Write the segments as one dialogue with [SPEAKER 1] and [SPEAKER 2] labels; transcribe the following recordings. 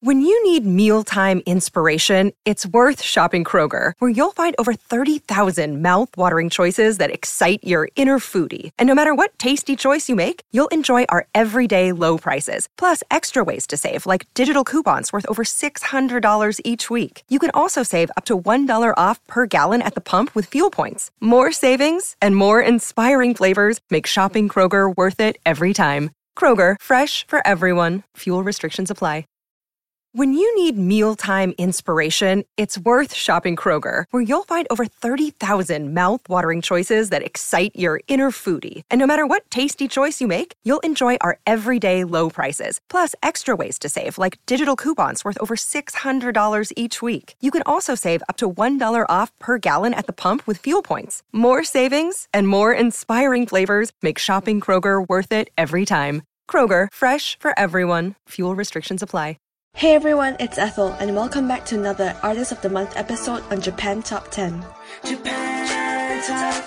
[SPEAKER 1] When you need mealtime inspiration, it's worth shopping Kroger, where you'll find over 30,000 mouth-watering choices that excite your inner foodie. And no matter what tasty choice you make, you'll enjoy our everyday low prices, plus extra ways to save, like digital coupons worth over $600 each week. You can also save up to $1 off per gallon at the pump with fuel points. More savings and more inspiring flavors make shopping Kroger worth it every time. Kroger, fresh for everyone. Fuel restrictions apply. When you need mealtime inspiration, it's worth shopping Kroger, where you'll find over 30,000 mouth-watering choices that excite your inner foodie. And no matter what tasty choice you make, you'll enjoy our everyday low prices, plus extra ways to save, like digital coupons worth over $600 each week. You can also save up to $1 off per gallon at the pump with fuel points. More savings and more inspiring flavors make shopping Kroger worth it every time. Kroger, fresh for everyone. Fuel restrictions apply.
[SPEAKER 2] Hey everyone, it's Ethel, and welcome back to another Artist of the Month episode on Japan Top 10.
[SPEAKER 3] Japan Top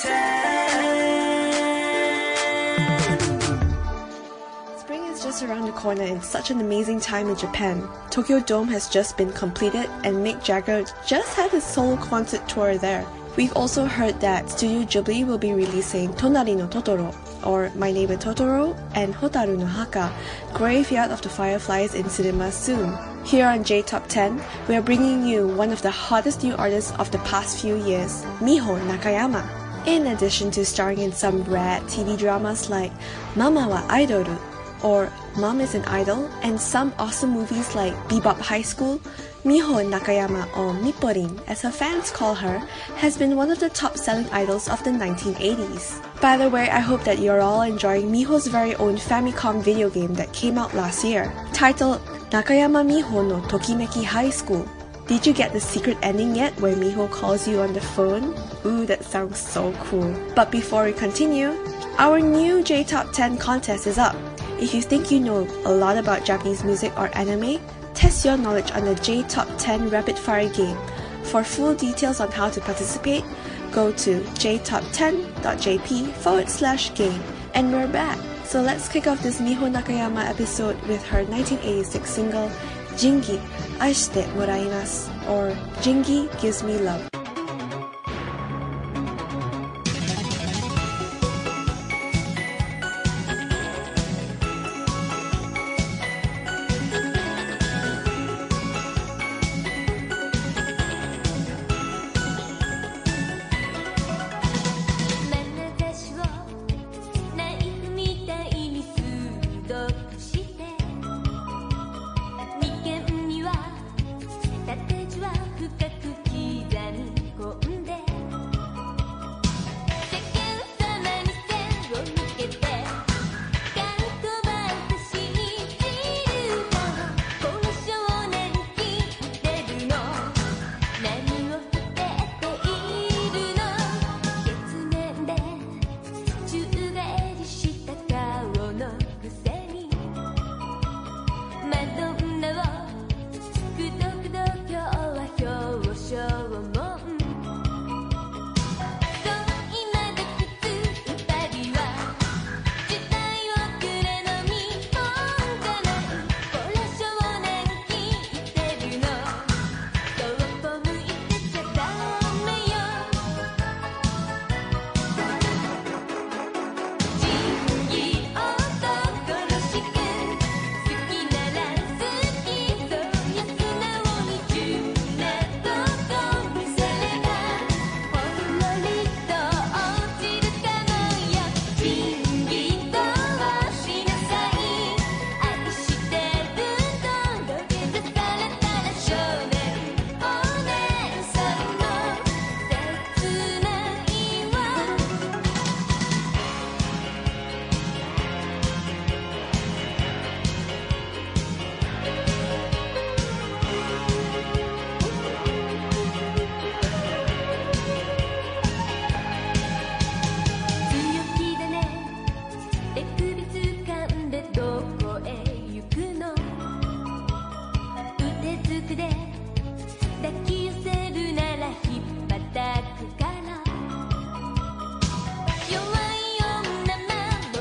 [SPEAKER 3] 10.
[SPEAKER 2] Spring is just around the corner and such an amazing time in Japan. Tokyo Dome has just been completed and Mick Jagger just had his solo concert tour there. We've also heard that Studio Ghibli will be releasing Tonari no Totoro, or My Neighbor Totoro, and Hotaru no Haka, Graveyard of the Fireflies in cinemas soon. Here on J Top 10, we are bringing you one of the hottest new artists of the past few years, Miho Nakayama. In addition to starring in some rad TV dramas like Mama wa Aidoru, or Mom is an Idol, and some awesome movies like Bebop High School, Miho Nakayama, or Mipporin as her fans call her, has been one of the top-selling idols of the 1980s. By the way, I hope that you're all enjoying Miho's very own Famicom video game that came out last year, titled Nakayama Miho no Tokimeki High School. Did you get the secret ending yet where Miho calls you on the phone? Ooh, that sounds so cool. But before we continue, our new J Top 10 contest is up. If you think you know a lot about Japanese music or anime, test your knowledge on the J Top 10 Rapid Fire game. For full details on how to participate, go to jtop10.jp/game. And we're back! So let's kick off this Miho Nakayama episode with her 1986 single, Jingi, Aishite Moraimasu, or Jingi Gives Me Love.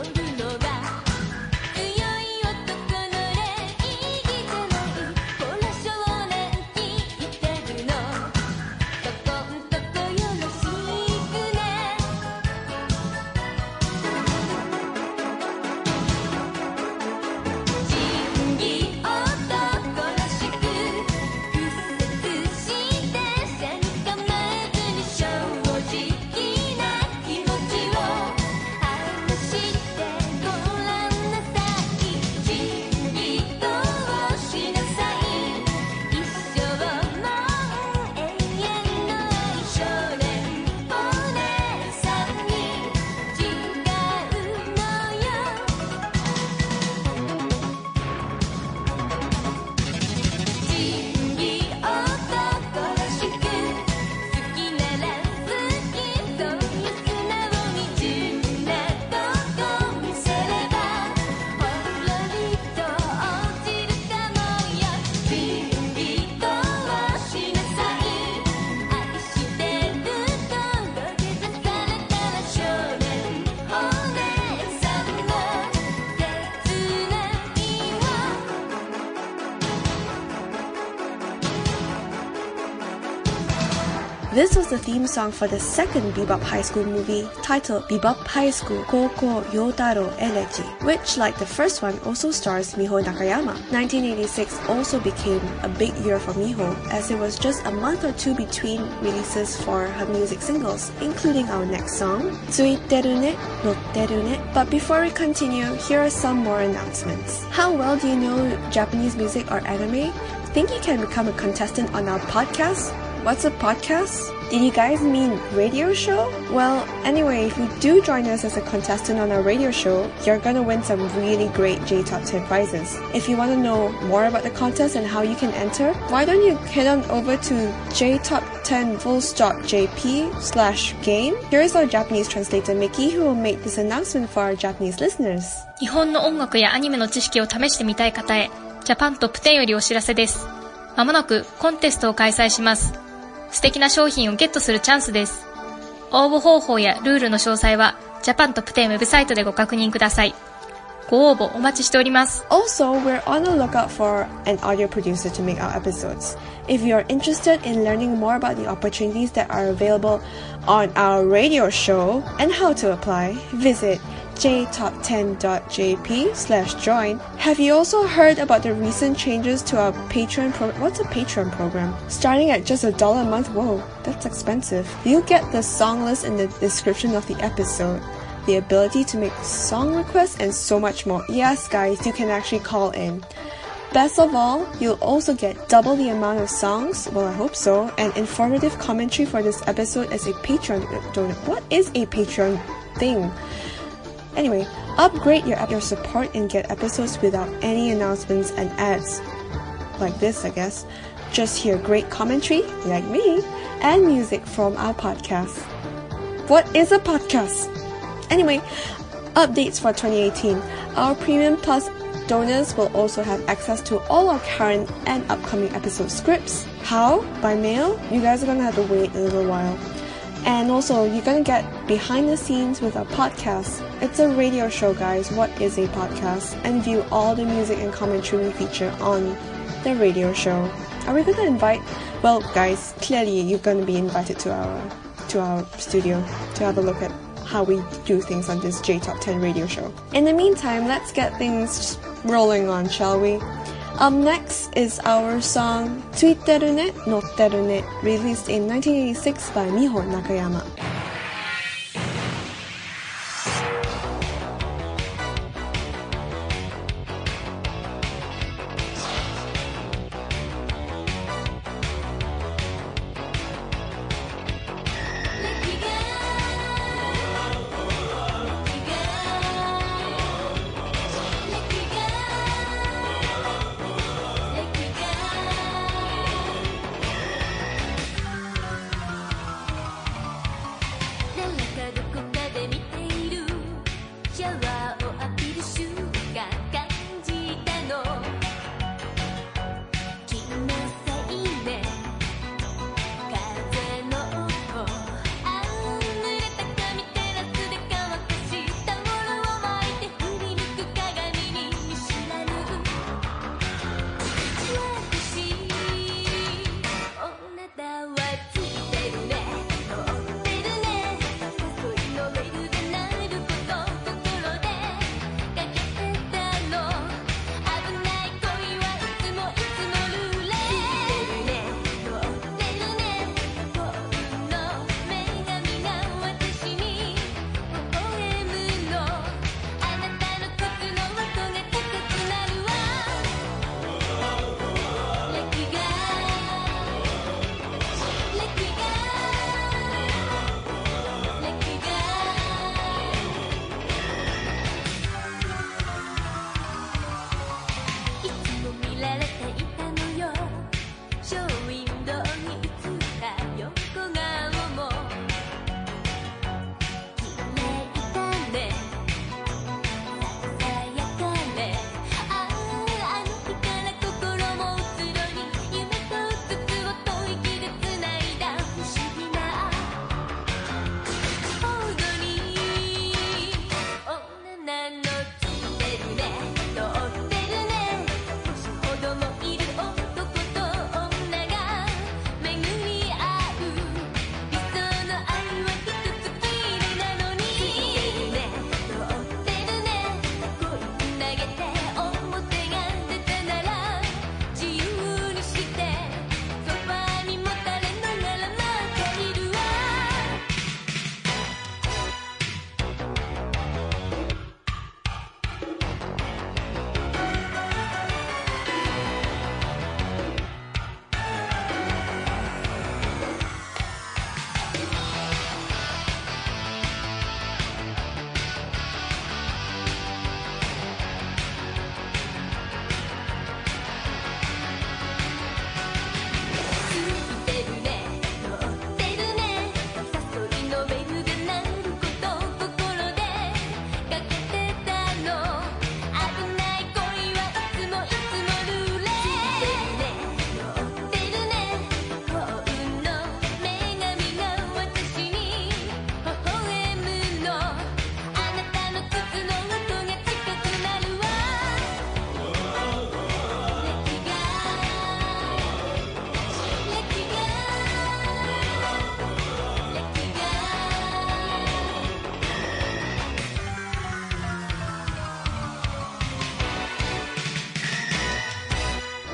[SPEAKER 3] 「
[SPEAKER 2] This was the theme song for the second Bebop High School movie, titled Bebop High School Koukou Yotaro Elegy, which, like the first one, also stars Miho Nakayama. 1986 also became a big year for Miho, as it was just a month or two between releases for her music singles, including our next song, Tsuiteru ne, Notteru ne. But before we continue, here are some more announcements. How well do you know Japanese music or anime? Think you can become a contestant on our podcast? What's a podcast? Did you guys mean radio show? Well, anyway, if you do join us as a contestant on our radio show, you're gonna win some really great J-Top 10 prizes. If you want to know more about the contest and how you can enter, why don't you head on over to jtop10fullstopjp/game. Here is our Japanese translator Miki, who will make this announcement for our Japanese listeners.
[SPEAKER 4] 日本の音楽やアニメの知識を試してみたい方へ、ジャパントップ10よりお知らせです。まもなくコンテストを開催します。素敵な商品をゲットするチャンスです。応募方法やルールの詳細はジャパントップ10ウェブサイトでご確認ください。ご応募お待ちしております。
[SPEAKER 2] Also, we're on the lookout for an audio producer to make our episodes. If you are interested in learning more about the opportunities that are available on our radio show and how to apply, visit jtop10.jp/join. Have you also heard about the recent changes to our Patreon program? What's a Patreon program? Starting at just $1 a month. Whoa, that's expensive. You'll get the song list in the description of the episode, the ability to make song requests, and so much more. Yes, guys, you can actually call in. Best of all, you'll also get double the amount of songs, well I hope so, and informative commentary for this episode as a Patreon donor. What is a Patreon thing? Anyway, upgrade your support and get episodes without any announcements and ads. Like this, I guess. Just hear great commentary, like me, and music from our podcast. What is a podcast? Anyway, updates for 2018. Our Premium Plus donors will also have access to all our current and upcoming episode scripts. How? By mail? You guys are gonna have to wait a little while. And also, you're gonna get behind the scenes with our podcast. It's a radio show, guys. What is a podcast? And view all the music and commentary we feature on the radio show. Are we gonna invite? Well, guys, clearly you're gonna be invited to our studio to have a look at how we do things on this J-Top 10 radio show. In the meantime, let's get things rolling on, shall we? Up next is our song Tsuiteru ne, Notteru ne, released in 1986 by Miho Nakayama.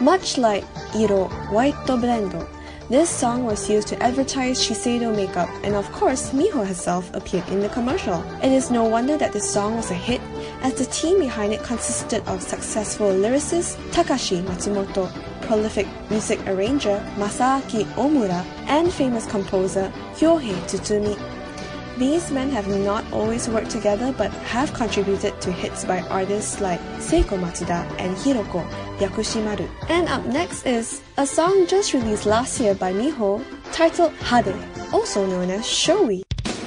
[SPEAKER 2] Much like Iro White Blendo, this song was used to advertise Shiseido makeup, and of course, Miho herself appeared in the commercial. It is no wonder that this song was a hit, as the team behind it consisted of successful lyricist Takashi Matsumoto, prolific music arranger Masaaki Omura, and famous composer Kyohei Tsutsumi. These men have not always worked together but have contributed to hits by artists like Seiko Matsuda and Hiroko Yakushimaru. And up next is a song just released last year by Miho titled Hade, also known as Showy.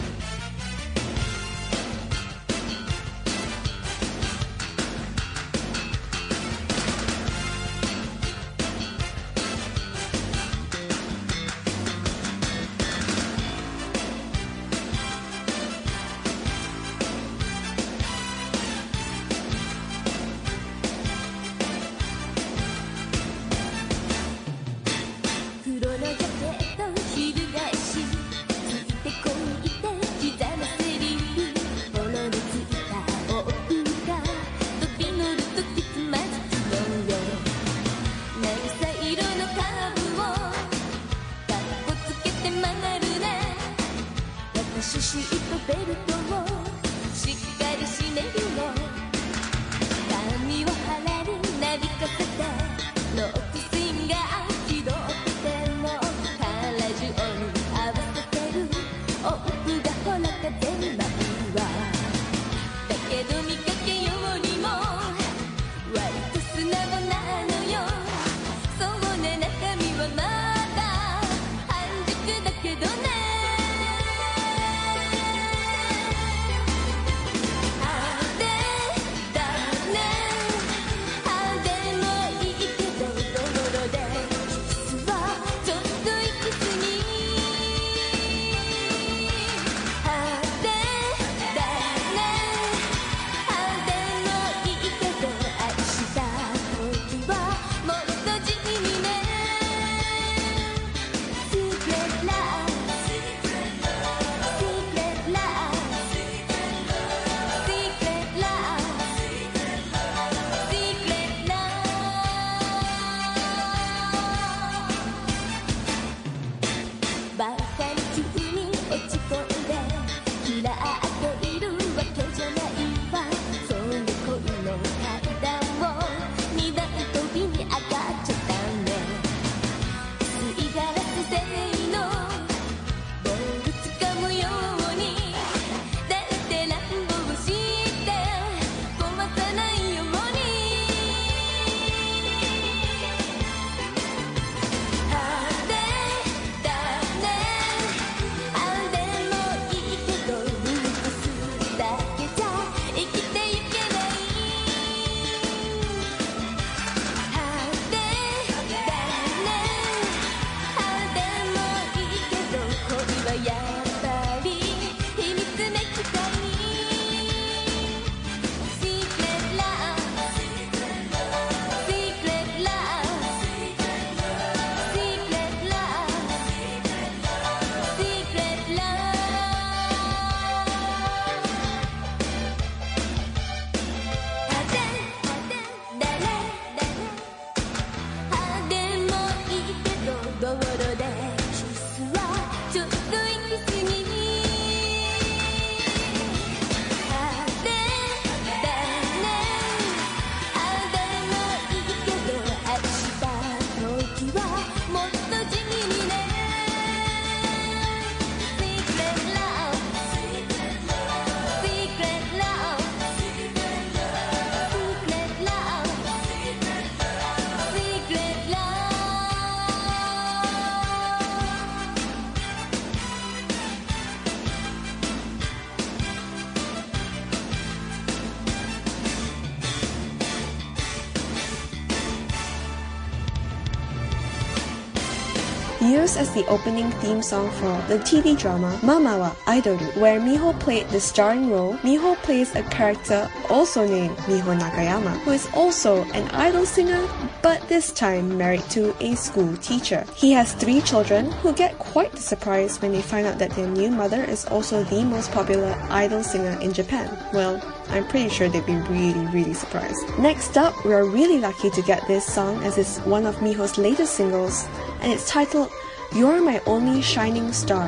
[SPEAKER 2] 'Used as the opening theme song for the TV drama Mama wa Aidoru, where Miho played the starring role. Miho plays a character also named Miho Nakayama, who is also an idol singer, but this time married to a school teacher. He has 3 children who get quite surprised when they find out that their new mother is also the most popular idol singer in Japan. Well, I'm pretty sure they'd be really, really surprised. Next up, we are really lucky to get this song as it's one of Miho's latest singles, and it's titled You're My Only Shining Star.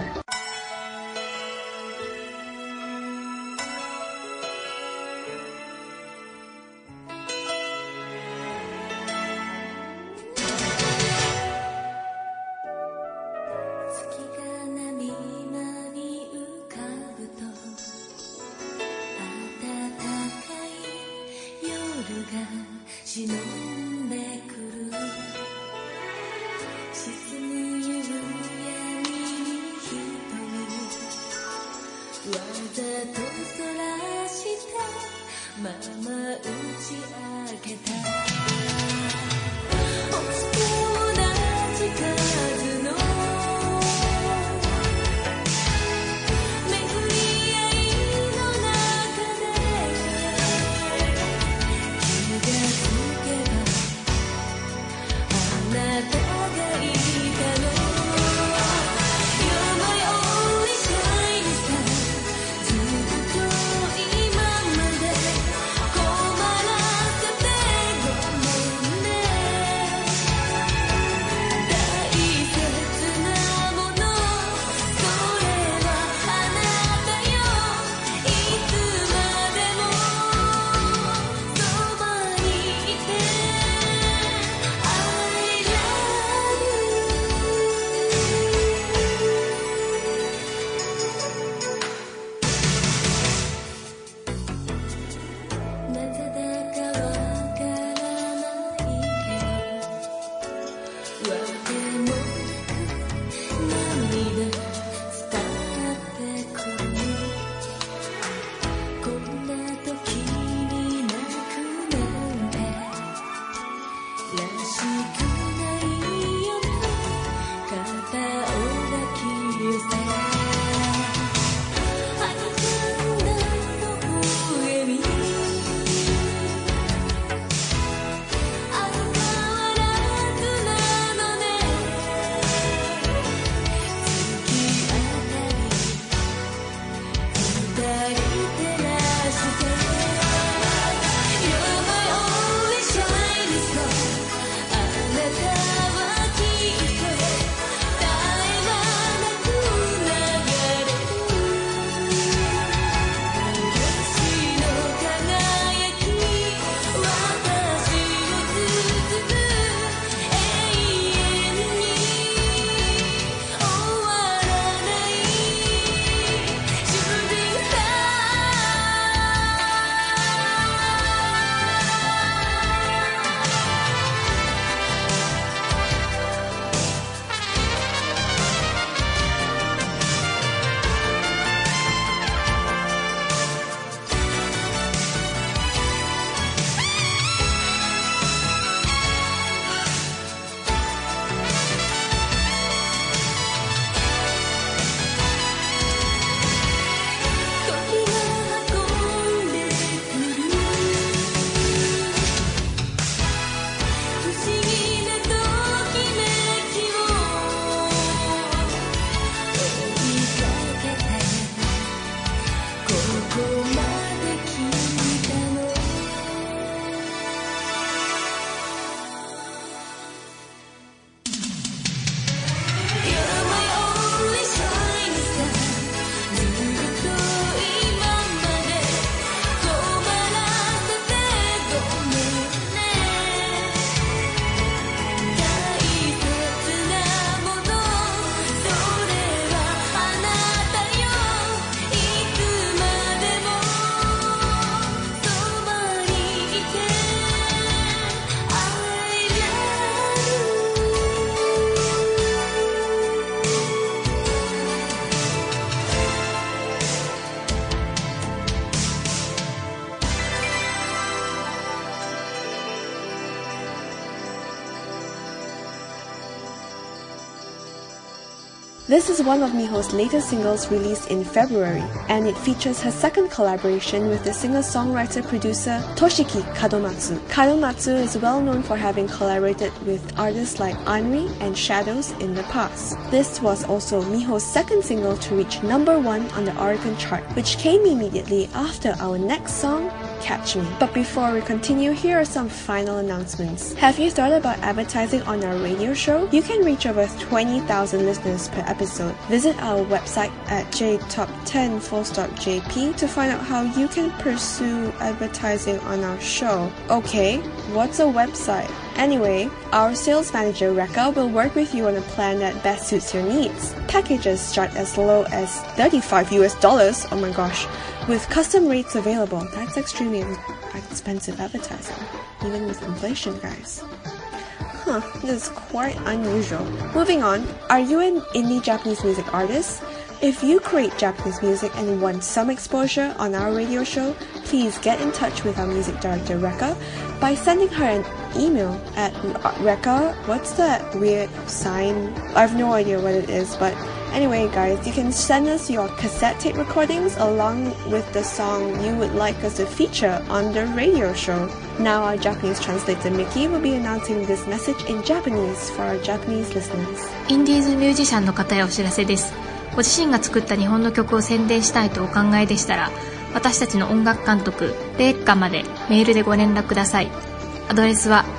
[SPEAKER 2] This is one of Miho's latest singles released in February, and it features her second collaboration with the singer-songwriter-producer Toshiki Kadomatsu. Kadomatsu is well known for having collaborated with artists like Anri and Shadows in the past. This was also Miho's second single to reach number 1 on the Oricon chart, which came immediately after our next song, Catch Me. But before we continue, here are some final announcements. Have you thought about advertising on our radio show? You can reach over 20,000 listeners per episode. Visit our website at jtop10.jp to find out how you can pursue advertising on our show. Okay, what's a website? Anyway, our sales manager Rekha will work with you on a plan that best suits your needs. Packages start as low as $35, oh my gosh, with custom rates available. That's extremely expensive advertising, even with inflation, guys. This is quite unusual. Moving on, are you an indie Japanese music artist? If you create Japanese music and want some exposure on our radio show, please get in touch with our music director Rekha by sending her an email at Rekha. What's that weird sign? I have no idea what it is, but anyway guys, you can send us your cassette tape recordings along with the song you would like us to feature on the radio show. Now our Japanese translator Miki will be announcing this message in Japanese for our Japanese listeners.
[SPEAKER 4] インディーズミュージシャンの方へお知らせです。ご自身が作った日本の曲を宣伝したいとお考えでしたら、私たちの音楽監督レッカまでメールでご連絡ください。アドレスは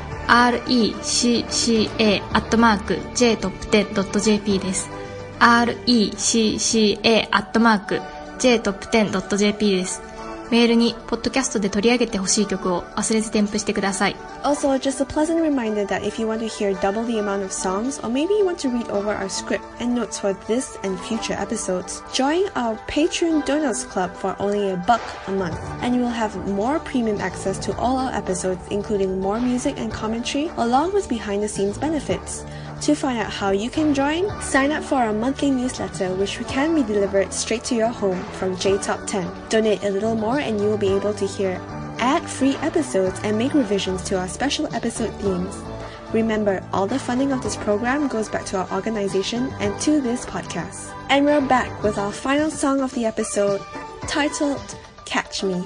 [SPEAKER 4] recca@jtop10.jp です。recca@jtop10.jp です。メールにポッドキャストで取り上げてほしい曲を忘れず添付してください。
[SPEAKER 2] Also, just a pleasant reminder that if you want to hear double the amount of songs, or maybe you want to read over our script and notes for this and future episodes, join our Patreon Donors Club for only $1 a month, and you will have more premium access to all our episodes, including more music and commentary, along with behind-the-scenes benefits. To find out how you can join, sign up for our monthly newsletter, which can be delivered straight to your home from JTop 10. Donate a little more and you will be able to hear ad-free episodes and make revisions to our special episode themes. Remember, all the funding of this program goes back to our organization and to this podcast. And we're back with our final song of the episode, titled Catch Me.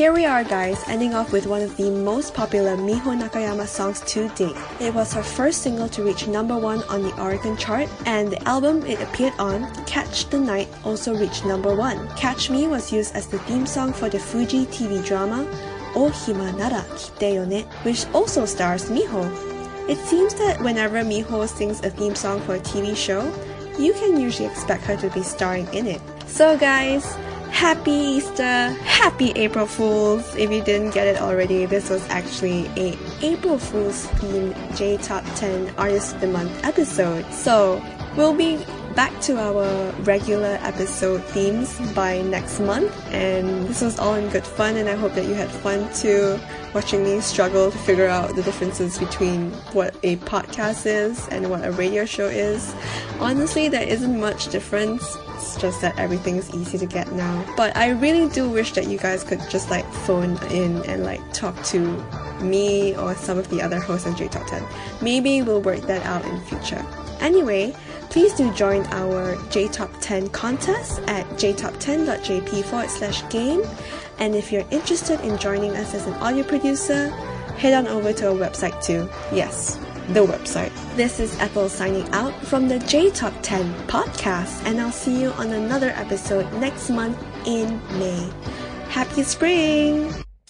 [SPEAKER 2] Here we are, guys, ending off with one of the most popular Miho Nakayama songs to date. It was her first single to reach number 1 on the Oricon chart, and the album it appeared on, Catch the Night, also reached number 1. Catch Me was used as the theme song for the Fuji TV drama O Hima Nara Kite Yo Ne, which also stars Miho. It seems that whenever Miho sings a theme song for a TV show, you can usually expect her to be starring in it. So guys, happy Easter, happy April Fools! If you didn't get it already, this was actually a April Fools themed J Top 10 Artist of the Month episode. So we'll be back to our regular episode themes by next month, and this was all in good fun, and I hope that you had fun too, watching me struggle to figure out the differences between what a podcast is and what a radio show is. Honestly, there isn't much difference. It's just that everything's easy to get now. But I really do wish that you guys could just phone in and talk to me or some of the other hosts on J Top 10. Maybe we'll work that out in future. Anyway, please do join our J Top 10 contest at jtop10.jp/game. And if you're interested in joining us as an audio producer, head on over to our website too. Yes, the website. This is Ethel signing out from the J Top 10 podcast, and I'll see you on another episode next month in May. Happy spring!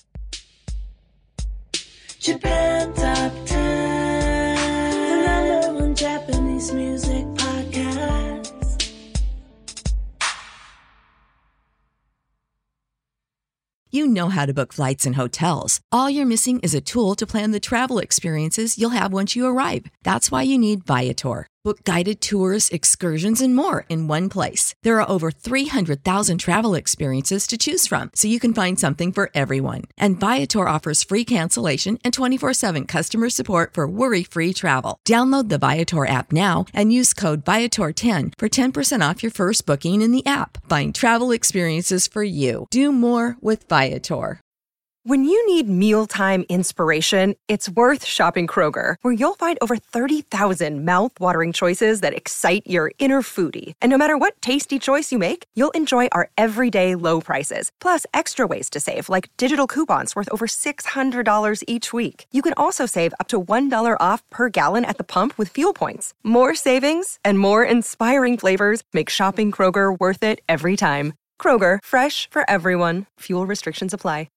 [SPEAKER 3] Japan Top 10, the number 1 Japanese music podcast.
[SPEAKER 5] You know how to book flights and hotels. All you're missing is a tool to plan the travel experiences you'll have once you arrive. That's why you need Viator. Book guided tours, excursions, and more in one place. There are over 300,000 travel experiences to choose from, so you can find something for everyone. And Viator offers free cancellation and 24/7 customer support for worry-free travel. Download the Viator app now and use code Viator10 for 10% off your first booking in the app. Find travel experiences for you. Do more with Viator.
[SPEAKER 1] When you need mealtime inspiration, it's worth shopping Kroger, where you'll find over 30,000 mouth-watering choices that excite your inner foodie. And no matter what tasty choice you make, you'll enjoy our everyday low prices, plus extra ways to save, like digital coupons worth over $600 each week. You can also save up to $1 off per gallon at the pump with fuel points. More savings and more inspiring flavors make shopping Kroger worth it every time. Kroger, fresh for everyone. Fuel restrictions apply.